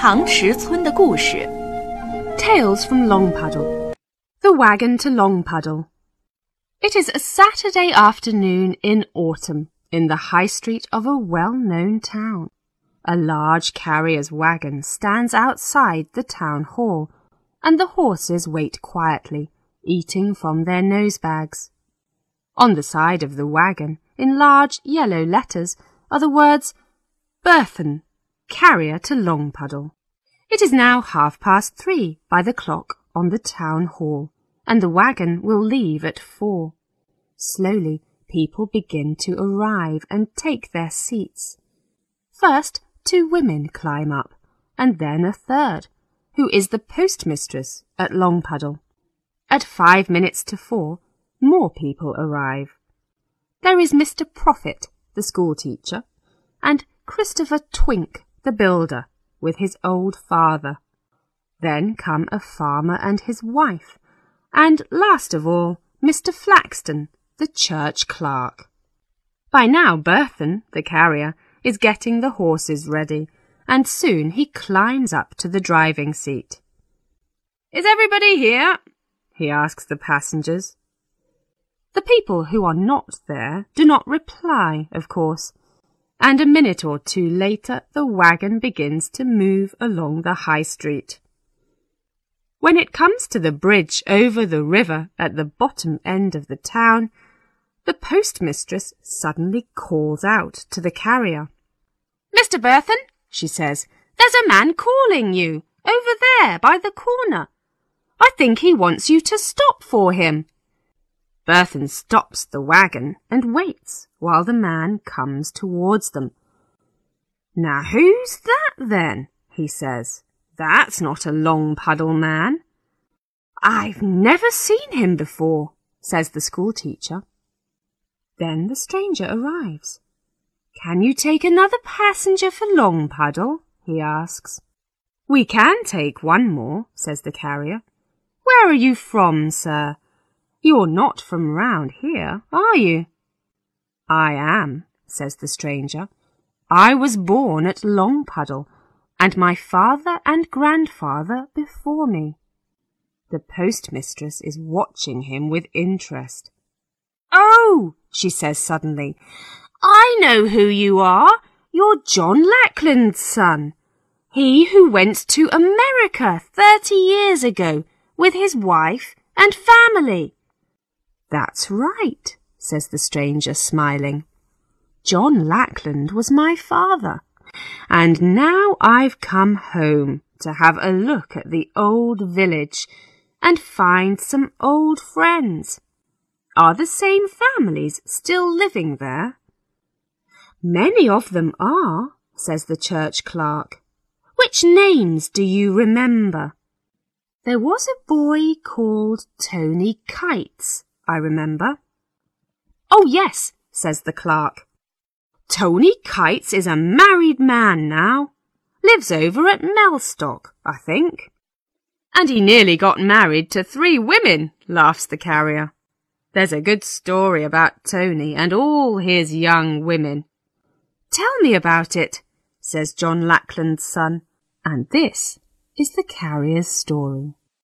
唐石村的故事 Tales from Longpuddle. The Wagon to Longpuddle. It is a Saturday afternoon in autumn in the high street of a well-known town. A large carrier's wagon stands outside the town hall, and the horses wait quietly, eating from their nosebags. On the side of the wagon, in large yellow letters, are the words, Burthon, carrier to Longpuddle. It is now 3:30 by the clock on the town hall, and the wagon will leave at 4. Slowly, people begin to arrive and take their seats. First, 2 women climb up, and then a third, who is the postmistress at Longpuddle. At 5 minutes to 4, more people arrive. There is Mr. Prophet, the schoolteacher, and Christopher Twink, the builder, with his old father. Then come a farmer and his wife, and last of all, Mr. Flaxton, the church clerk. By now Burthon, the carrier, is getting the horses ready, and soon he climbs up to the driving seat. "Is everybody here?" he asks the passengers. The people who are not there do not reply, of course, and a minute or 2 later the wagon begins to move along the high street. When it comes to the bridge over the river at the bottom end of the town, the postmistress suddenly calls out to the carrier. "Mr. Burthon," she says, "there's a man calling you, over there by the corner. I think he wants you to stop for him." Burthon stops the wagon and waits while the man comes towards them. "Now who's that then?" he says. "That's not a Longpuddle man." "I've never seen him before," says the schoolteacher. Then the stranger arrives. "Can you take another passenger for Longpuddle?" he asks. "We can take one more," says the carrier. "Where are you from, sir? You're not from round here, are you?" "I am," says the stranger. "I was born at Longpuddle, and my father and grandfather before me." The postmistress is watching him with interest. "Oh," she says suddenly, "I know who you are. You're John Lackland's son. He who went to America 30 years ago with his wife and family." "That's right," says the stranger, smiling. "John Lackland was my father, and now I've come home to have a look at the old village and find some old friends. Are the same families still living there?" "Many of them are," says the church clerk. "Which names do you remember?" "There was a boy called Tony Kites, I remember." "Oh, yes," says the clerk. "Tony Kites is a married man now. Lives over at Mellstock, I think." "And he nearly got married to 3 women," laughs the carrier. "There's a good story about Tony and all his young women." "Tell me about it," says John Lackland's son, and this is the carrier's story.